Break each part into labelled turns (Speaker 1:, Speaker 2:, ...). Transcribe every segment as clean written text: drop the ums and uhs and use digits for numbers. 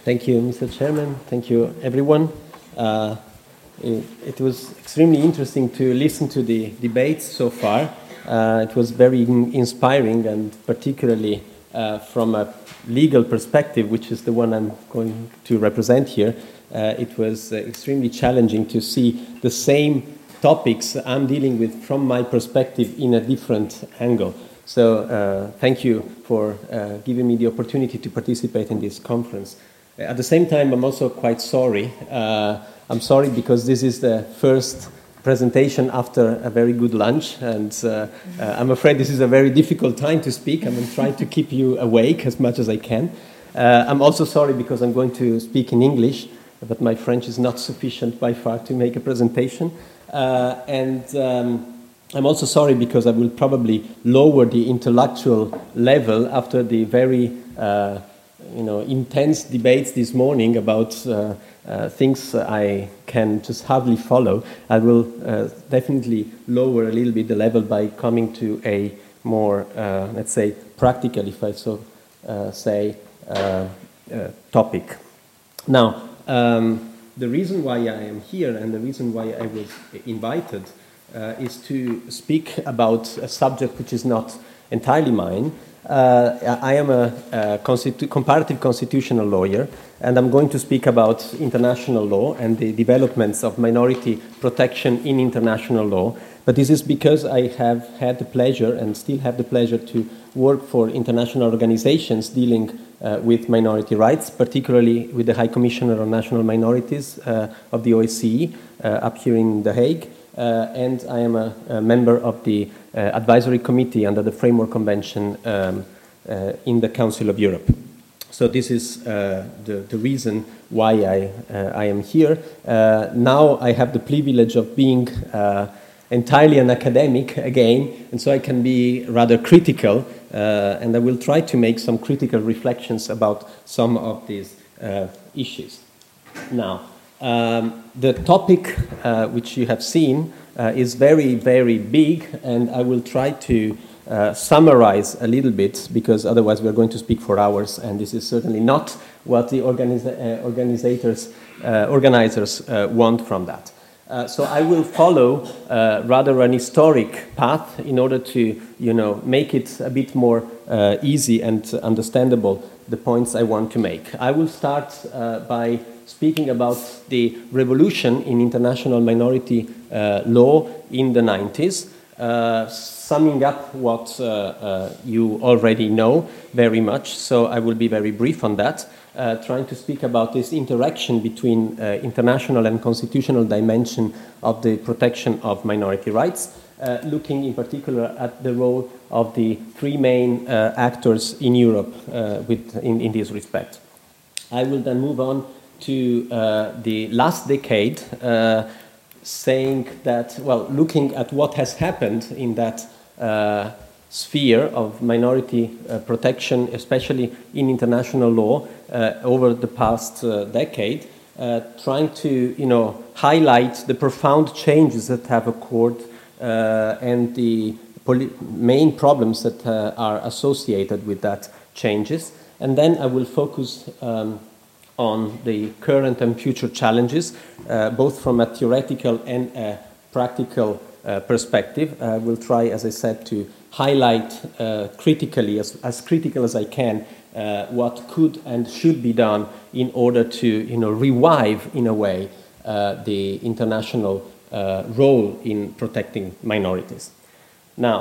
Speaker 1: Thank you, Mr. Chairman. Thank you, everyone. It was extremely interesting to listen to the debates so far. It was very inspiring, and particularly from a legal perspective, which is the one I'm going to represent here, it was extremely challenging to see the same topics I'm dealing with from my perspective in a different angle. So thank you for giving me the opportunity to participate in this conference. At the same time, I'm also quite sorry. I'm sorry because this is the first presentation after a very good lunch, and I'm afraid this is a very difficult time to speak. I'm trying to keep you awake as much as I can. I'm also sorry because I'm going to speak in English, but my French is not sufficient by far to make a presentation. I'm also sorry because I will probably lower the intellectual level after the very intense debates this morning about things I can just hardly follow. I will definitely lower a little bit the level by coming to a more, let's say, practical, if I so say, topic. Now, the reason why I am here and the reason why I was invited is to speak about a subject which is not entirely mine. I am a comparative constitutional lawyer, and I'm going to speak about international law and the developments of minority protection in international law. But this is because I have had the pleasure and still have the pleasure to work for international organizations dealing with minority rights, particularly with the High Commissioner on National Minorities of the OSCE up here in The Hague. And I am a member of the advisory committee under the Framework Convention in the Council of Europe. So this is the reason why I am here. Now I have the privilege of being entirely an academic again, and so I can be rather critical, and I will try to make some critical reflections about some of these issues. Now, the topic which you have seen is very, very big, and I will try to summarize a little bit, because otherwise we're going to speak for hours, and this is certainly not what the organizers want from that. So I will follow rather an historic path in order to, make it a bit more easy and understandable, the points I want to make. I will start by speaking about the revolution in international minority law in the 90s, summing up what you already know very much, so I will be very brief on that, trying to speak about this interaction between international and constitutional dimension of the protection of minority rights, looking in particular at the role of the three main actors in Europe in this respect. I will then move on to the last decade, saying that, looking at what has happened in that sphere of minority protection, especially in international law, over the past decade, trying to, highlight the profound changes that have occurred and the main problems that are associated with that changes. And then I will focus on the current and future challenges, both from a theoretical and a practical perspective. I will try, as I said, to highlight critically, as critical as I can, what could and should be done in order to, revive, in a way, the international role in protecting minorities. Now,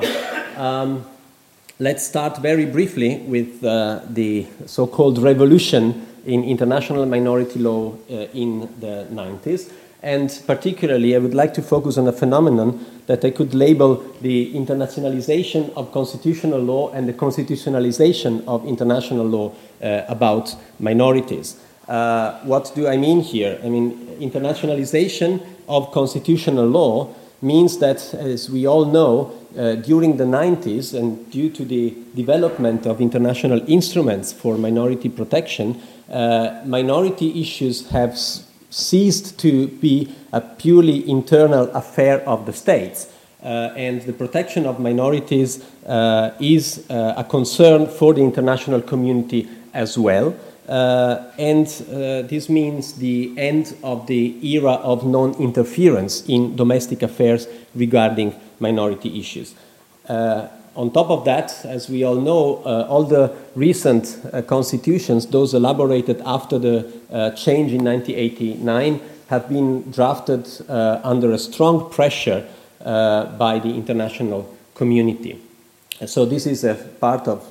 Speaker 1: let's start very briefly with the so-called revolution in international minority law in the 90s. And particularly, I would like to focus on a phenomenon that I could label the internationalization of constitutional law and the constitutionalization of international law about minorities. What do I mean here? I mean, internationalization of constitutional law means that, as we all know, during the 90s and due to the development of international instruments for minority protection, minority issues have ceased to be a purely internal affair of the states. And the protection of minorities is a concern for the international community as well. This means the end of the era of non-interference in domestic affairs regarding minority issues. On top of that, as we all know, all the recent constitutions, those elaborated after the change in 1989, have been drafted under a strong pressure by the international community. So this is a part of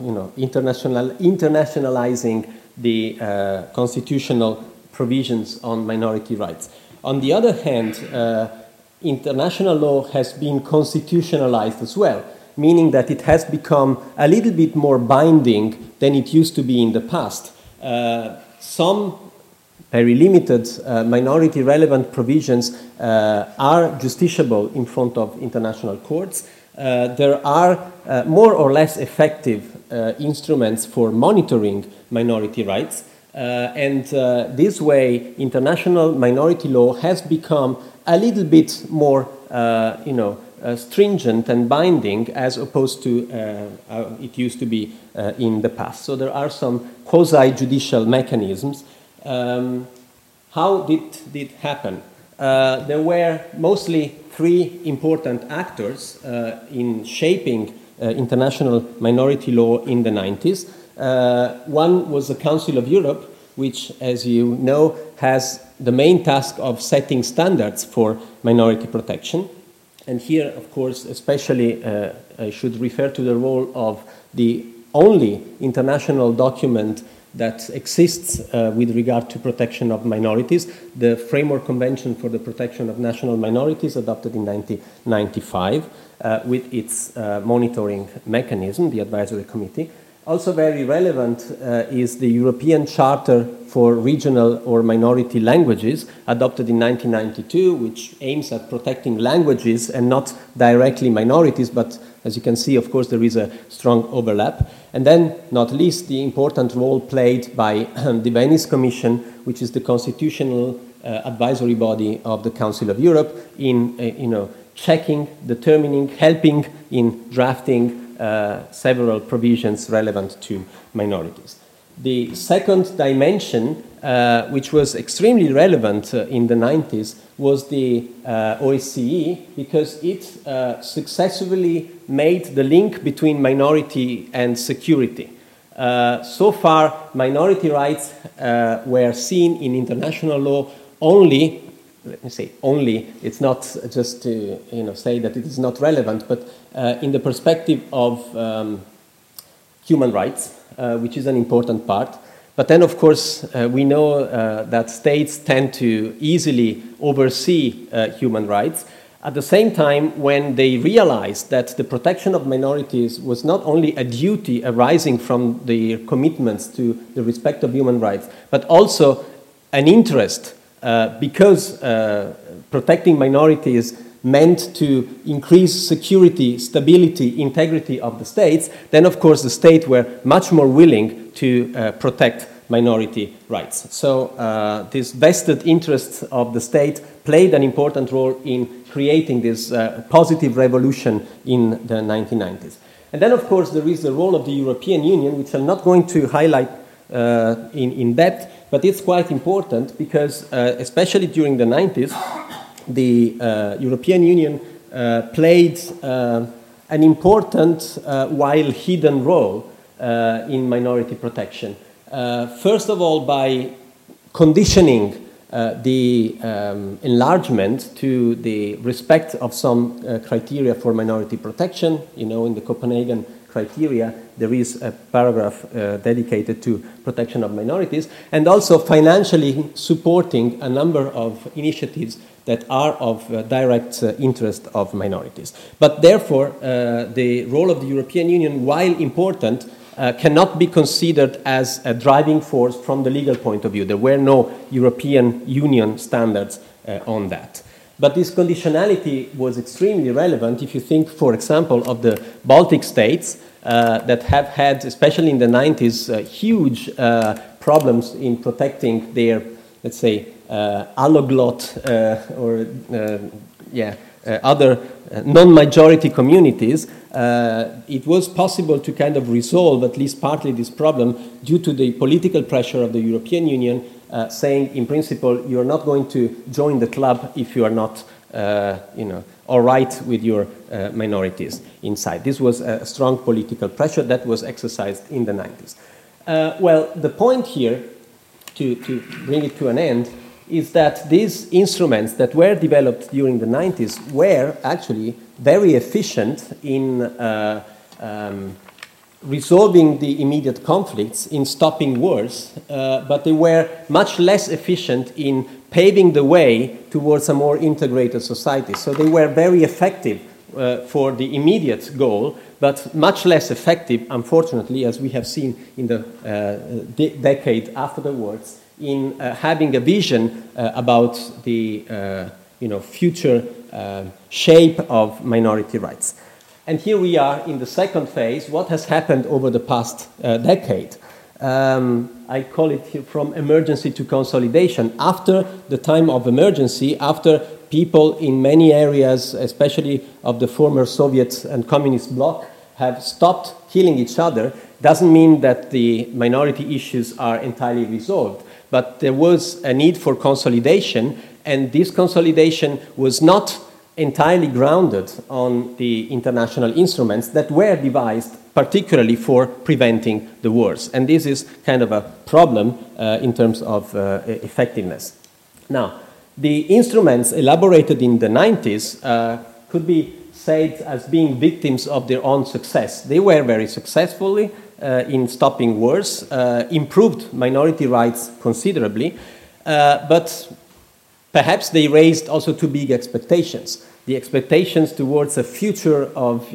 Speaker 1: internationalizing the constitutional provisions on minority rights. On the other hand, international law has been constitutionalized as well, meaning that it has become a little bit more binding than it used to be in the past. Some very limited minority relevant provisions are justiciable in front of international courts. There are more or less effective instruments for monitoring minority rights. This way, international minority law has become a little bit more, stringent and binding as opposed to it used to be in the past. So there are some quasi-judicial mechanisms. How did it happen? There were mostly three important actors in shaping international minority law in the 90s. One was the Council of Europe, which, as you know, has the main task of setting standards for minority protection. And here, of course, especially I should refer to the role of the only international document that exists with regard to protection of minorities, the Framework Convention for the Protection of National Minorities, adopted in 1995, with its monitoring mechanism, the Advisory Committee. Also very relevant is the European Charter for Regional or Minority Languages, adopted in 1992, which aims at protecting languages and not directly minorities, but as you can see, of course, there is a strong overlap. And then, not least, the important role played by the Venice Commission, which is the constitutional advisory body of the Council of Europe, in checking, determining, helping in drafting several provisions relevant to minorities. The second dimension, which was extremely relevant in the 90s, was the OSCE, because it successfully made the link between minority and security. So far, minority rights were seen in international law only, let me say only, it's not just to say that it is not relevant, but in the perspective of human rights, which is an important part. But then, of course, we know that states tend to easily oversee human rights. At the same time, when they realized that the protection of minorities was not only a duty arising from their commitments to the respect of human rights, but also an interest because protecting minorities meant to increase security, stability, integrity of the states, then of course the states were much more willing to protect minority rights. So this vested interest of the state played an important role in creating this positive revolution in the 1990s. And then of course there is the role of the European Union, which I'm not going to highlight in depth, but it's quite important because especially during the 90s, the European Union played an important while hidden role in minority protection. First of all, by conditioning the enlargement to the respect of some criteria for minority protection. In the Copenhagen criteria, there is a paragraph dedicated to protection of minorities, and also financially supporting a number of initiatives that are of direct interest of minorities. But therefore, the role of the European Union, while important, cannot be considered as a driving force from the legal point of view. There were no European Union standards on that. But this conditionality was extremely relevant if you think, for example, of the Baltic states that have had, especially in the 90s, huge problems in protecting their, let's say, alloglot other non-majority communities, it was possible to kind of resolve at least partly this problem due to the political pressure of the European Union saying, in principle, you're not going to join the club if you are not, all right with your minorities inside. This was a strong political pressure that was exercised in the 90s. Well, the point here, to bring it to an end, is that these instruments that were developed during the 90s were actually very efficient in resolving the immediate conflicts, in stopping wars, but they were much less efficient in paving the way towards a more integrated society. So they were very effective for the immediate goal, but much less effective, unfortunately, as we have seen in the decade afterwards, in having a vision about the future shape of minority rights. And here we are in the second phase. What has happened over the past decade? I call it here from emergency to consolidation. After the time of emergency, after people in many areas, especially of the former Soviet and communist bloc, have stopped killing each other, doesn't mean that the minority issues are entirely resolved. But there was a need for consolidation, and this consolidation was not entirely grounded on the international instruments that were devised particularly for preventing the wars. And this is kind of a problem in terms of effectiveness. Now, the instruments elaborated in the 90s could be said as being victims of their own success. They were very successfully in stopping wars, improved minority rights considerably, but perhaps they raised also too big expectations. The expectations towards a future of,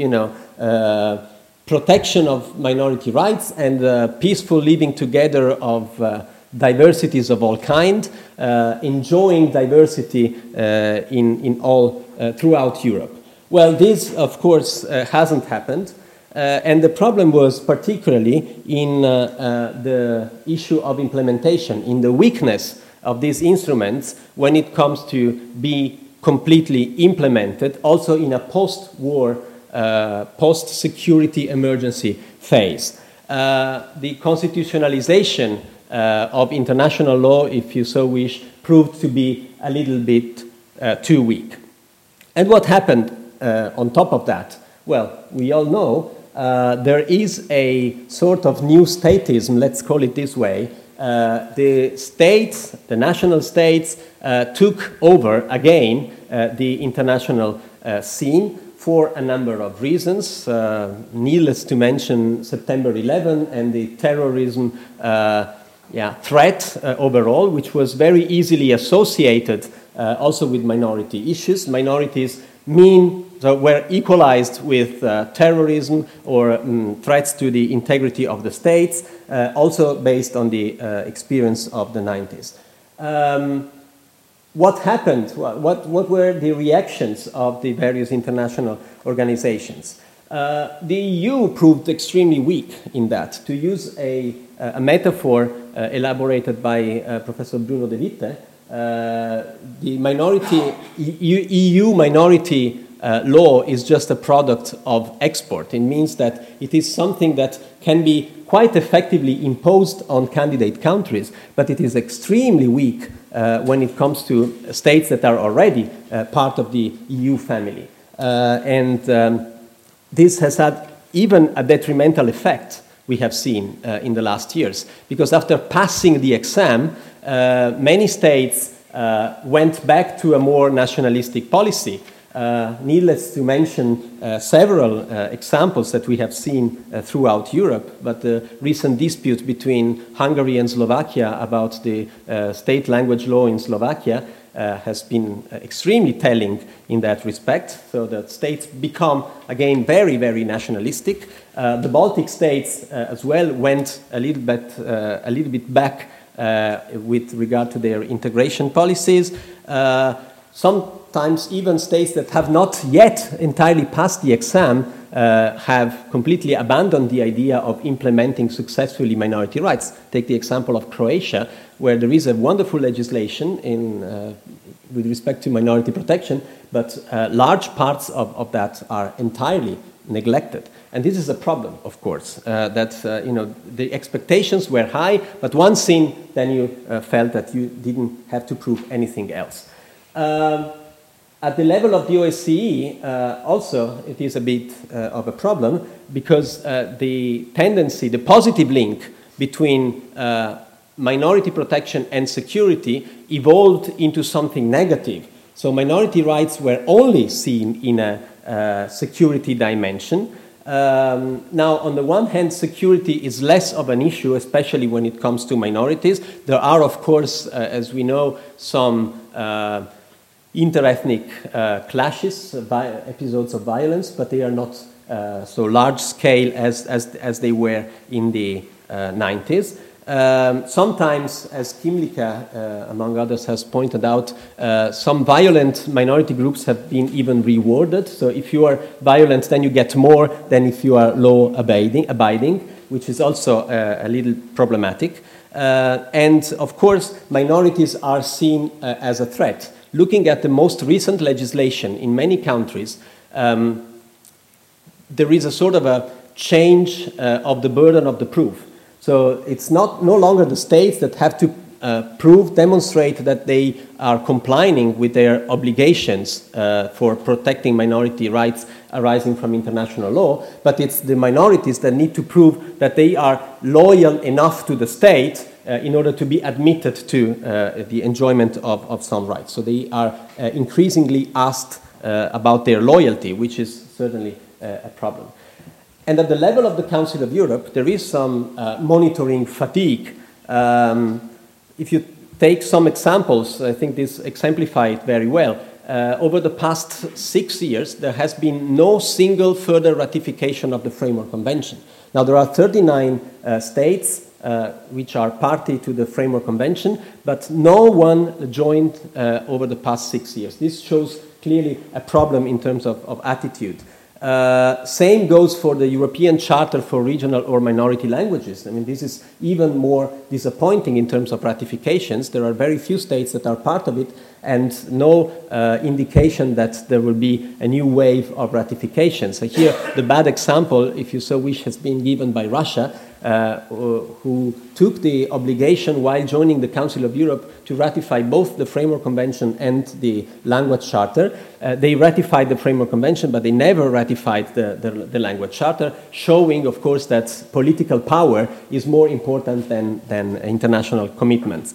Speaker 1: protection of minority rights and peaceful living together of diversities of all kind, enjoying diversity in all throughout Europe. Well, this, of course, hasn't happened. And the problem was particularly in the issue of implementation, in the weakness of these instruments when it comes to be completely implemented, also in a post-war, post-security emergency phase. The constitutionalization of international law, if you so wish, proved to be a little bit too weak. And what happened on top of that? Well, we all know there is a sort of new statism, let's call it this way. The states, the national states, took over again the international scene for a number of reasons. Needless to mention September 11 and the terrorism threat overall, which was very easily associated also with minority issues. Minorities were equalized with terrorism or threats to the integrity of the states, also based on the experience of the 90s. What happened? What were the reactions of the various international organizations? The EU proved extremely weak in that. To use a metaphor elaborated by Professor Bruno De Witte, the EU minority law is just a product of export. It means that it is something that can be quite effectively imposed on candidate countries, but it is extremely weak when it comes to states that are already part of the EU family. This has had even a detrimental effect, we have seen in the last years, because after passing the exam, many states went back to a more nationalistic policy. Needless to mention several examples that we have seen throughout Europe, but the recent dispute between Hungary and Slovakia about the state language law in Slovakia has been extremely telling in that respect, so that states become, again, very, very nationalistic. The Baltic states as well went a little bit back with regard to their integration policies. Sometimes even states that have not yet entirely passed the exam have completely abandoned the idea of implementing successfully minority rights. Take the example of Croatia, where there is a wonderful legislation with respect to minority protection, but large parts of that are entirely neglected. And this is a problem, of course, that the expectations were high, but once in, then you felt that you didn't have to prove anything else. At the level of the OSCE, also, it is a bit of a problem, because the tendency, the positive link between minority protection and security evolved into something negative. So minority rights were only seen in a security dimension. Now, on the one hand, security is less of an issue, especially when it comes to minorities. There are, of course, as we know, some interethnic clashes, episodes of violence, but they are not so large scale as they were in the 90s. Sometimes, as Kim Lika, among others, has pointed out, some violent minority groups have been even rewarded. So if you are violent, then you get more than if you are law-abiding, which is also a little problematic. And, of course, minorities are seen as a threat. Looking at the most recent legislation in many countries, there is a sort of a change of the burden of the proof. So it's no longer the states that have to demonstrate that they are complying with their obligations for protecting minority rights arising from international law, but it's the minorities that need to prove that they are loyal enough to the state in order to be admitted to the enjoyment of some rights. So they are increasingly asked about their loyalty, which is certainly a problem. And at the level of the Council of Europe, there is some monitoring fatigue. If you take some examples, I think this exemplifies it very well. Over the past 6 years, there has been no single further ratification of the Framework Convention. Now, there are 39 states which are party to the Framework Convention, but no one joined over the past 6 years. This shows clearly a problem in terms of attitude. Same goes for the European Charter for Regional or Minority Languages. I mean, this is even more disappointing in terms of ratifications. There are very few states that are part of it, and no indication that there will be a new wave of ratifications. So here, the bad example, if you so wish, has been given by Russia, who took the obligation while joining the Council of Europe to ratify both the Framework Convention and the Language Charter. They ratified the Framework Convention, but they never ratified the Language Charter, showing, of course, that political power is more important than international commitments.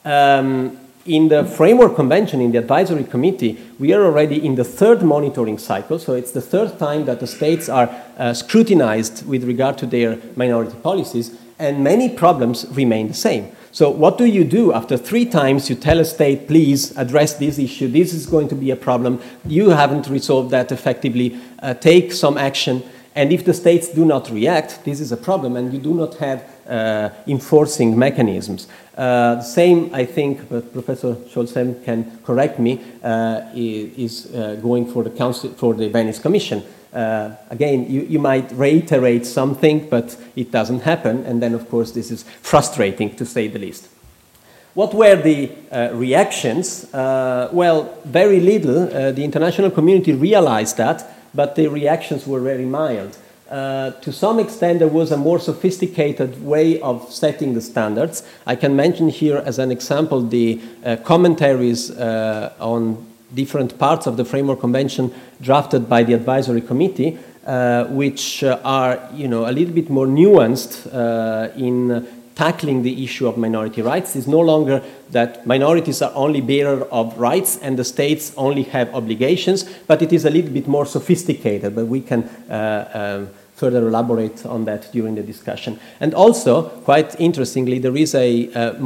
Speaker 1: In the Framework Convention, in the Advisory Committee, we are already in the third monitoring cycle, so it's the third time that the states are scrutinized with regard to their minority policies, and many problems remain the same. So what do you do after 3 times you tell a state, please address this issue, this is going to be a problem, you haven't resolved that effectively, take some action, and if the states do not react, this is a problem, and you do not have enforcing mechanisms. The same, I think, but Professor Scholzheim can correct me, is going for the Council, for the Venice Commission. Again, you might reiterate something, but it doesn't happen, and then, of course, this is frustrating, to say the least. What were the reactions? Well, very little. The international community realized that, but the reactions were very mild. To some extent, there was a more sophisticated way of setting the standards. I can mention here as an example the commentaries on different parts of the Framework Convention drafted by the Advisory Committee, which are, a little bit more nuanced in tackling the issue of minority rights. It's no longer that minorities are only bearer of rights and the states only have obligations, but it is a little bit more sophisticated, but we can further elaborate on that during the discussion. And also, quite interestingly, there is a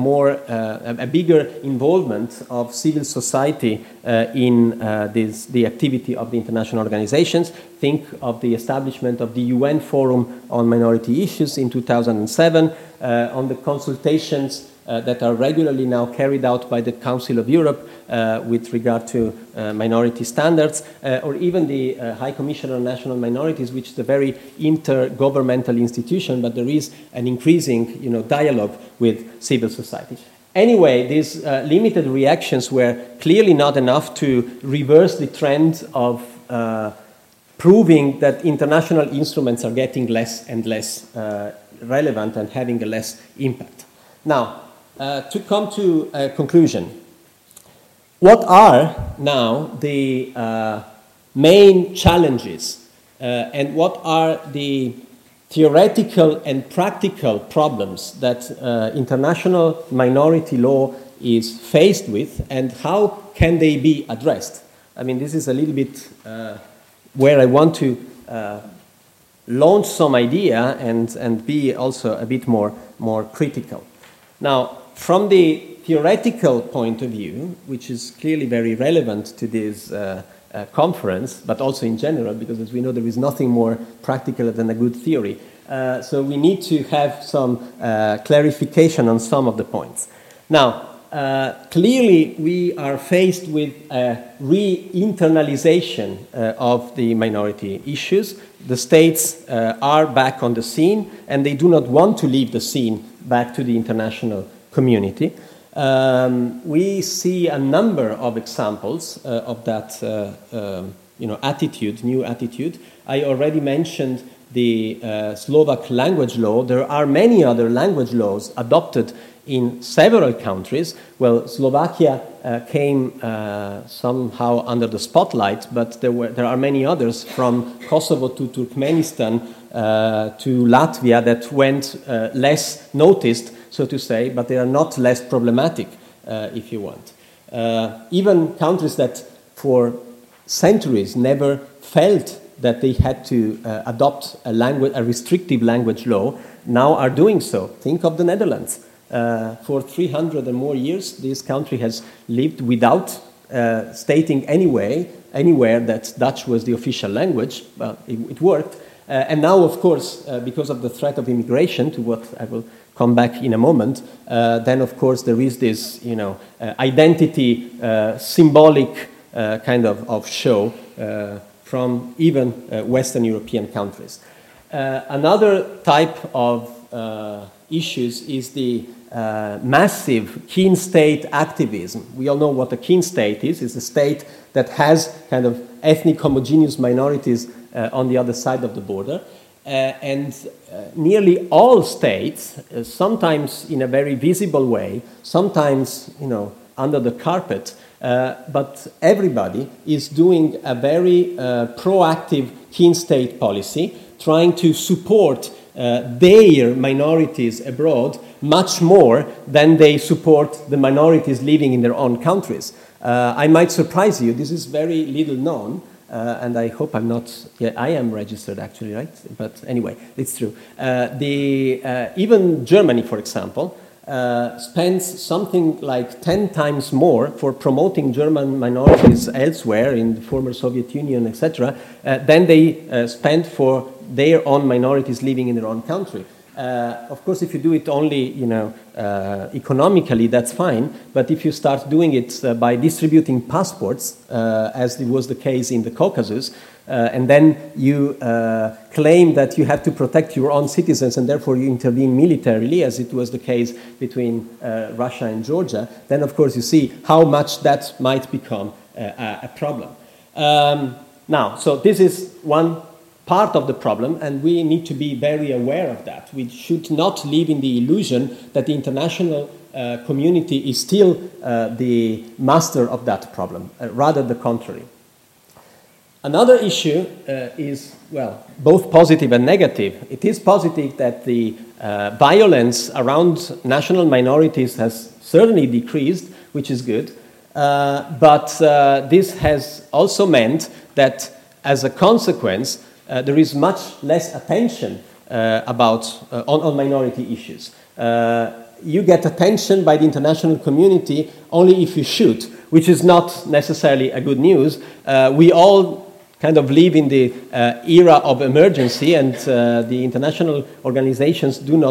Speaker 1: bigger involvement of civil society in the activity of the international organizations. Think of the establishment of the UN Forum on Minority Issues in 2007, on the consultations that are regularly now carried out by the Council of Europe with regard to minority standards, or even the High Commissioner on National Minorities, which is a very intergovernmental institution, but there is an increasing dialogue with civil society. Anyway, these limited reactions were clearly not enough to reverse the trend of proving that international instruments are getting less and less relevant and having a less impact. Now, to come to a conclusion, what are now the main challenges and what are the theoretical and practical problems that international minority law is faced with, and how can they be addressed? I mean, this is a little bit where I want to launch some idea and be also a bit more critical. Now, from the theoretical point of view, which is clearly very relevant to this conference, but also in general, because as we know, there is nothing more practical than a good theory. So we need to have some clarification on some of the points. Now, clearly, we are faced with a re-internalization of the minority issues. The states are back on the scene, and they do not want to leave the scene back to the international community. We see a number of examples of that new attitude. I already mentioned the Slovak language law. There are many other language laws adopted in several countries. Well, Slovakia came somehow under the spotlight, but there are many others, from Kosovo to Turkmenistan to Latvia, that went less noticed, so to say, but they are not less problematic, if you want. Even countries that for centuries never felt that they had to adopt a restrictive language law now are doing so. Think of the Netherlands. For 300 or more years, this country has lived without stating anywhere that Dutch was the official language. Well, it worked. And now, of course, because of the threat of immigration, to what I will come back in a moment, then, of course, there is this, identity symbolic kind of show from even Western European countries. Another type of issues is the massive kin state activism. We all know what a kin state is. It's a state that has kind of ethnic homogeneous minorities on the other side of the border. And nearly all states, sometimes in a very visible way, sometimes under the carpet, but everybody is doing a very proactive kin state policy, trying to support their minorities abroad much more than they support the minorities living in their own countries. I might surprise you, this is very little known, and I hope I'm not, I am registered actually, right? But anyway, it's true. Even Germany, for example, spends something like 10 times more for promoting German minorities elsewhere in the former Soviet Union, etc., than they spend for their own minorities living in their own country. Of course, if you do it only, economically, that's fine. But if you start doing it by distributing passports, as it was the case in the Caucasus, and then you claim that you have to protect your own citizens and therefore you intervene militarily, as it was the case between Russia and Georgia, then of course you see how much that might become a problem. Now, so this is one part of the problem, and we need to be very aware of that. We should not live in the illusion that the international community is still the master of that problem, rather the contrary. Another issue is, well, both positive and negative. It is positive that the violence around national minorities has certainly decreased, which is good, but this has also meant that as a consequence, there is much less attention on minority issues. You get attention by the international community only if you shoot, which is not necessarily a good news. We all kind of live in the era of emergency, and the international organizations do not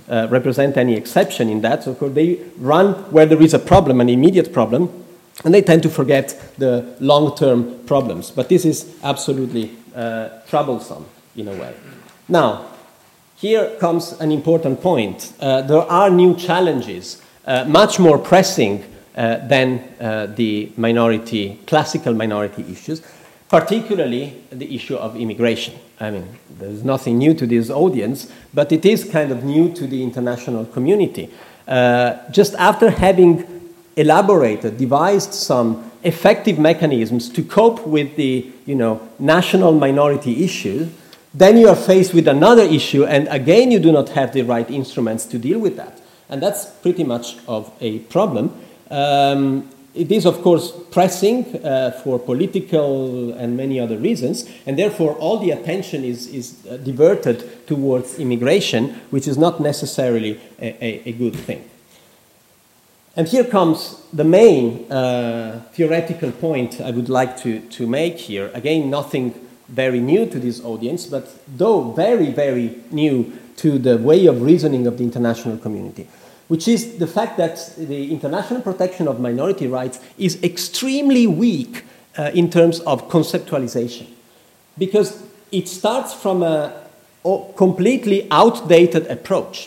Speaker 1: represent any exception in that. So of course they run where there is a problem, an immediate problem, and they tend to forget the long-term problems. But this is absolutely troublesome in a way. Now, here comes an important point. There are new challenges, much more pressing than the classical minority issues, particularly the issue of immigration. I mean, there's nothing new to this audience, but it is kind of new to the international community. Just after having devised some effective mechanisms to cope with the, national minority issue, then you are faced with another issue, and again you do not have the right instruments to deal with that. And that's pretty much of a problem. It is, of course, pressing for political and many other reasons, and therefore all the attention is diverted towards immigration, which is not necessarily a good thing. And here comes the main theoretical point I would like to make here. Again, nothing very new to this audience, but though very, very new to the way of reasoning of the international community, which is the fact that the international protection of minority rights is extremely weak in terms of conceptualization, because it starts from a completely outdated approach.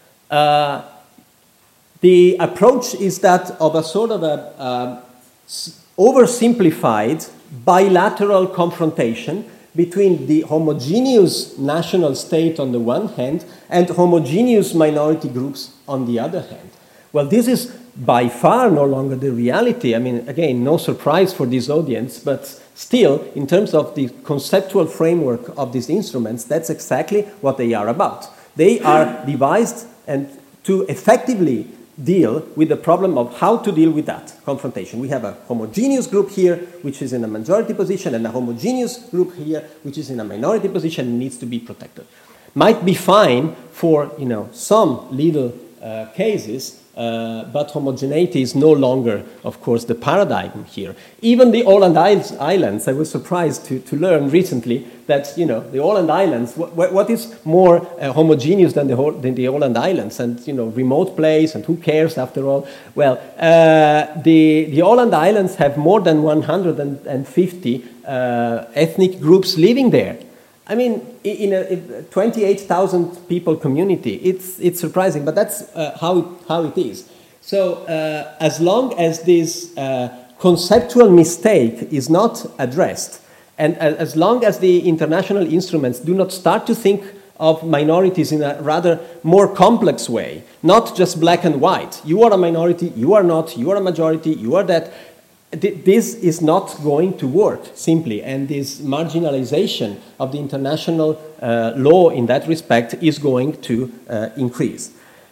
Speaker 1: The approach is that of a sort of a oversimplified bilateral confrontation between the homogeneous national state on the one hand and homogeneous minority groups on the other hand. Well, this is by far no longer the reality. I mean, again, no surprise for this audience, but still, in terms of the conceptual framework of these instruments, that's exactly what they are about. They are devised and to effectively deal with the problem of how to deal with that confrontation. We have a homogeneous group here, which is in a majority position, and a homogeneous group here, which is in a minority position and needs to be protected. Might be fine for some little cases, but homogeneity is no longer, of course, the paradigm here. Even the Åland Islands, I was surprised to learn recently that, the Åland Islands, what is more homogeneous than the Åland Islands? And, remote place, and who cares after all? Well, the Åland Islands have more than 150 ethnic groups living there. I mean, in a 28,000 people community, it's surprising, but that's how it is. So as long as this conceptual mistake is not addressed, and as long as the international instruments do not start to think of minorities in a rather more complex way, not just black and white, you are a minority, you are not, you are a majority, you are that, this is not going to work, simply, and this marginalization of the international law in that respect is going to increase.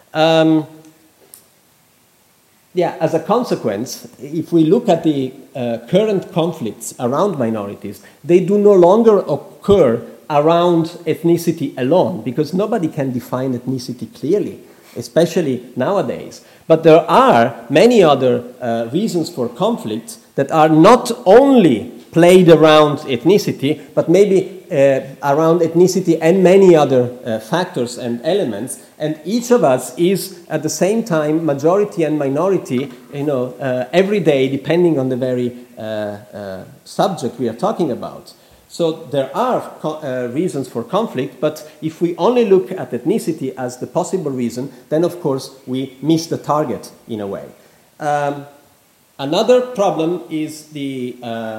Speaker 1: As a consequence, if we look at the current conflicts around minorities, they do no longer occur around ethnicity alone, because nobody can define ethnicity clearly, especially nowadays. But there are many other reasons for conflict that are not only played around ethnicity, but maybe around ethnicity and many other factors and elements. And each of us is at the same time majority and minority, every day, depending on the very subject we are talking about. So there are reasons for conflict, but if we only look at ethnicity as the possible reason, then of course we miss the target in a way. Another problem is the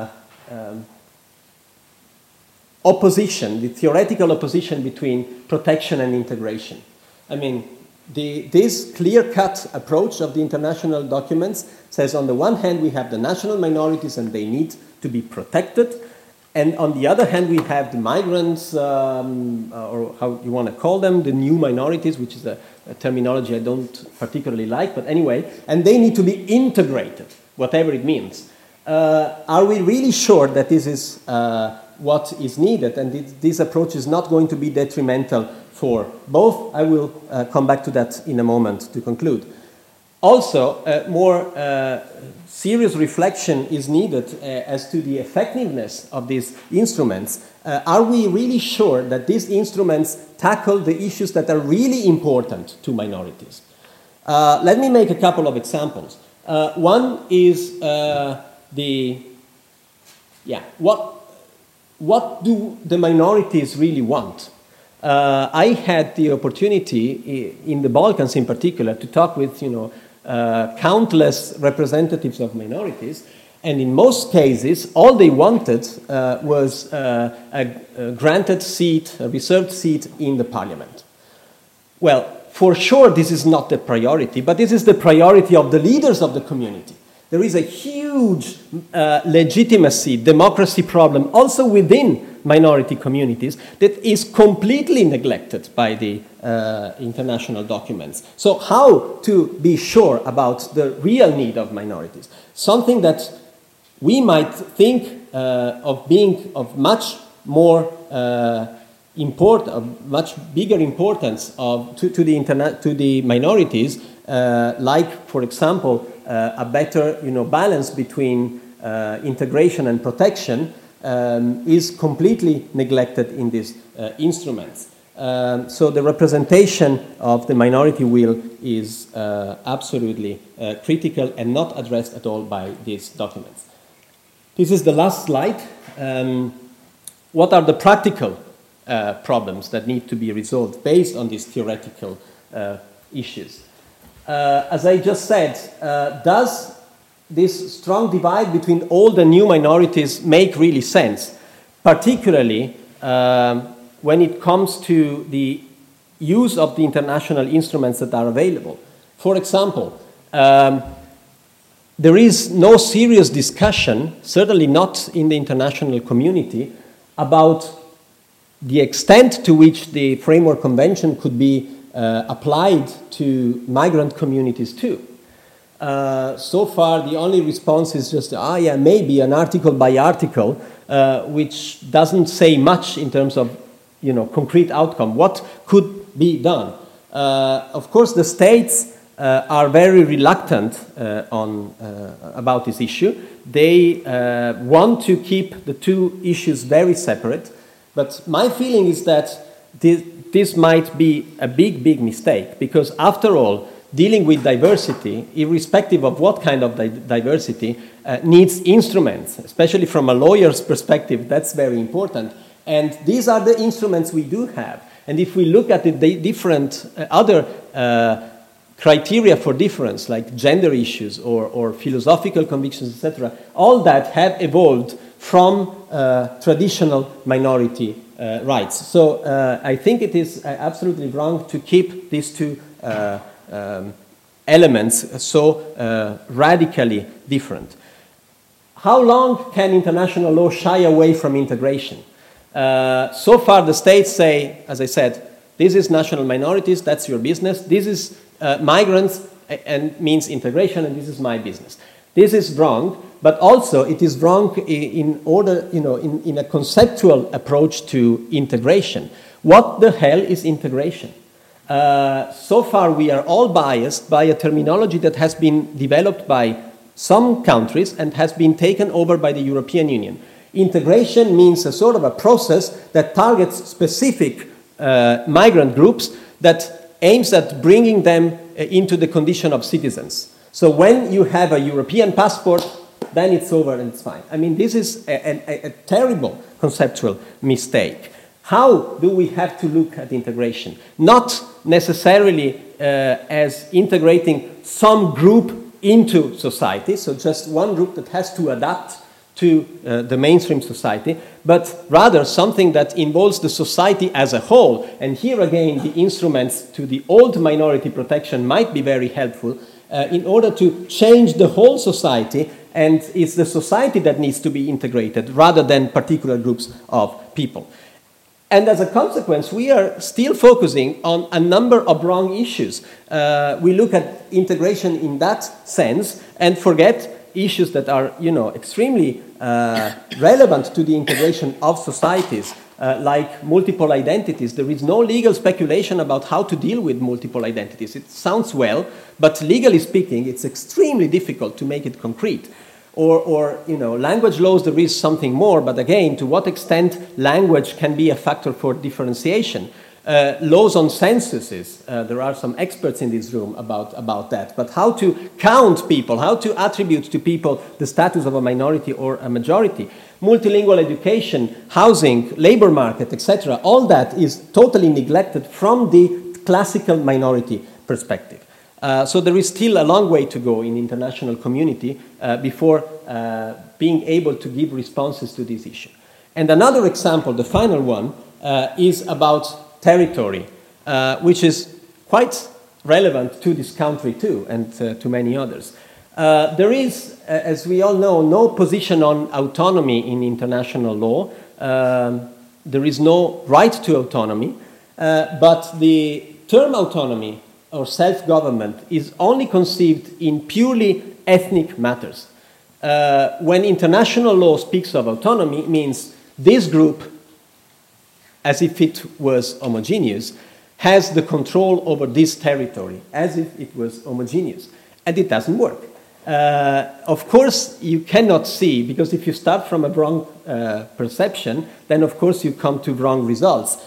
Speaker 1: opposition, the theoretical opposition between protection and integration. I mean, this clear-cut approach of the international documents says on the one hand we have the national minorities and they need to be protected, and on the other hand, we have the migrants, or how you want to call them, the new minorities, which is a terminology I don't particularly like, but anyway, and they need to be integrated, whatever it means. Are we really sure that this is what is needed, and this approach is not going to be detrimental for both? I will come back to that in a moment to conclude. Also, more serious reflection is needed as to the effectiveness of these instruments. Are we really sure that these instruments tackle the issues that are really important to minorities? Let me make a couple of examples. One is what do the minorities really want? I had the opportunity in the Balkans in particular to talk with countless representatives of minorities, and in most cases all they wanted was a granted seat, a reserved seat in the parliament. Well, for sure this is not the priority, but this is the priority of the leaders of the community. There is a huge legitimacy, democracy problem also within minority communities that is completely neglected by the international documents. So how to be sure about the real need of minorities? Something that we might think of being of much more much bigger importance to the minorities, like, for example, a better balance between integration and protection, is completely neglected in these instruments. So the representation of the minority will is absolutely critical and not addressed at all by these documents. This is the last slide. What are the practical problems that need to be resolved based on these theoretical issues? As I just said, does this strong divide between old and new minorities make really sense, particularly when it comes to the use of the international instruments that are available? For example, there is no serious discussion, certainly not in the international community, about the extent to which the Framework Convention could be applied to migrant communities too. So far, the only response is just, maybe an article by article, which doesn't say much in terms of, concrete outcome. What could be done? Of course, the states are very reluctant about this issue. They want to keep the two issues very separate. But my feeling is that this might be a big mistake, because after all, dealing with diversity, irrespective of what kind of diversity, needs instruments, especially from a lawyer's perspective. That's very important. And these are the instruments we do have. And if we look at the different other criteria for difference, like gender issues or philosophical convictions, etc., all that have evolved from traditional minority rights. So I think it is absolutely wrong to keep these two elements so radically different. How long can international law shy away from integration? So far the states say, as I said, this is national minorities, that's your business. This is migrants and means integration, and this is my business. This is wrong, but also it is wrong in order, in a conceptual approach to integration. What the hell is integration? So far we are all biased by a terminology that has been developed by some countries and has been taken over by the European Union. Integration means a sort of a process that targets specific migrant groups that aims at bringing them into the condition of citizens. So when you have a European passport, then it's over and it's fine. I mean, this is a terrible conceptual mistake. How do we have to look at integration? Not necessarily as integrating some group into society, so just one group that has to adapt to the mainstream society, but rather something that involves the society as a whole. And here again, the instruments to the old minority protection might be very helpful in order to change the whole society, and it's the society that needs to be integrated rather than particular groups of people. And as a consequence, we are still focusing on a number of wrong issues. We look at integration in that sense and forget issues that are, extremely relevant to the integration of societies, like multiple identities. There is no legal speculation about how to deal with multiple identities. It sounds well, but legally speaking, it's extremely difficult to make it concrete. Or language laws, there is something more, but again, to what extent language can be a factor for differentiation. Laws on censuses, there are some experts in this room about that, but how to count people, how to attribute to people the status of a minority or a majority. Multilingual education, housing, labor market, etc. All that is totally neglected from the classical minority perspective. So there is still a long way to go in international community before being able to give responses to this issue. And another example, the final one, is about territory, which is quite relevant to this country too, and to many others. There is, as we all know, no position on autonomy in international law. There is no right to autonomy, but the term autonomy or self-government is only conceived in purely ethnic matters. When international law speaks of autonomy, it means this group, as if it was homogeneous, has the control over this territory, as if it was homogeneous. And it doesn't work. Of course, you cannot see, because if you start from a wrong perception, then of course you come to wrong results.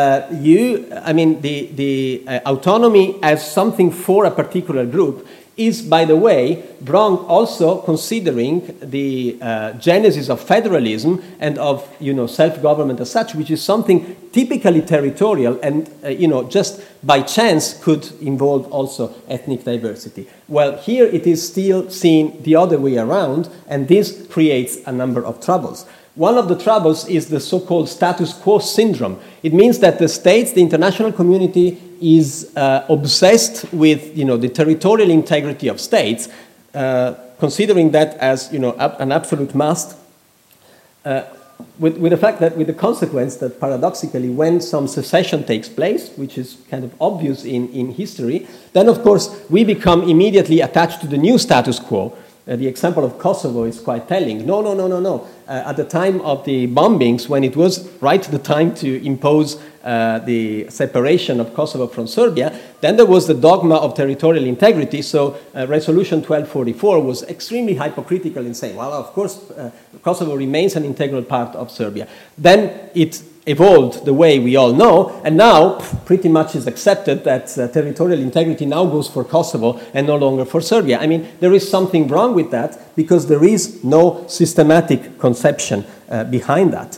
Speaker 1: The autonomy as something for a particular group is, by the way, wrong also considering the genesis of federalism and of self-government as such, which is something typically territorial and just by chance could involve also ethnic diversity. Well, here it is still seen the other way around, and this creates a number of troubles. One of the troubles is the so-called status quo syndrome. It means that the states, the international community, is obsessed with the territorial integrity of states, considering that as an absolute must, with the fact that, with the consequence that paradoxically when some secession takes place, which is kind of obvious in history, then of course we become immediately attached to the new status quo. The example of Kosovo is quite telling. No. At the time of the bombings, when it was the time to impose the separation of Kosovo from Serbia, then there was the dogma of territorial integrity. So Resolution 1244 was extremely hypocritical in saying, well, of course, Kosovo remains an integral part of Serbia. Then it evolved the way we all know, and now pretty much is accepted that territorial integrity now goes for Kosovo and no longer for Serbia. I mean, there is something wrong with that because there is no systematic conception behind that.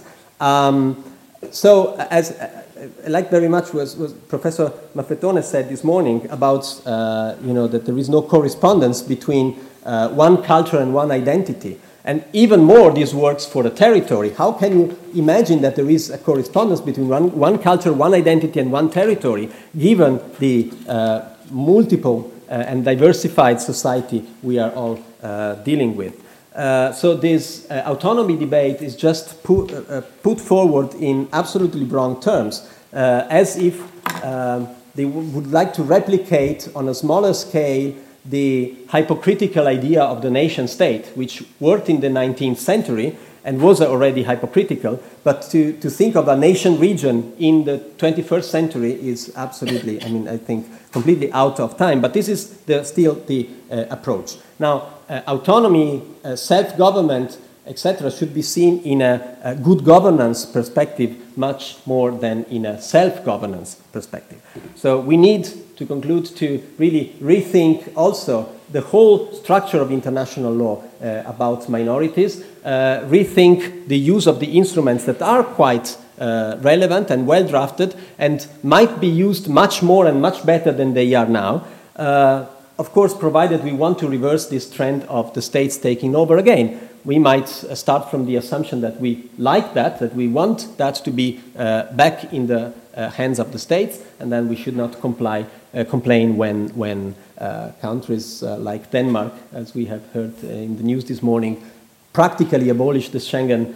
Speaker 1: So, as I like very much was Professor Maffetone said this morning about that there is no correspondence between one culture and one identity. And even more, this works for the territory. How can you imagine that there is a correspondence between one culture, one identity, and one territory, given the multiple and diversified society we are all dealing with? So this autonomy debate is just put forward in absolutely wrong terms, as if they would like to replicate on a smaller scale the hypocritical idea of the nation state, which worked in the 19th century and was already hypocritical, but to think of a nation region in the 21st century is absolutely, I think, completely out of time. But this is still the approach. Now, autonomy, self-government, etc., should be seen in a good governance perspective much more than in a self-governance perspective. So we need, to conclude, to really rethink also the whole structure of international law about minorities, rethink the use of the instruments that are quite relevant and well drafted and might be used much more and much better than they are now. Of course, provided we want to reverse this trend of the states taking over again. We might start from the assumption that we like that we want that to be back in the hands of the states, and then we should not complain when countries like Denmark, as we have heard in the news this morning, practically abolish the Schengen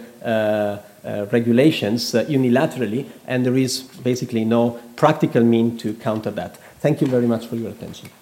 Speaker 1: regulations unilaterally, and there is basically no practical mean to counter that. Thank you very much for your attention.